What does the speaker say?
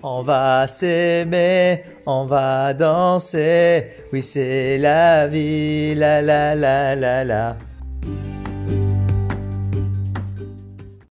On va s'aimer, on va danser. Oui, c'est la vie, la la la la la.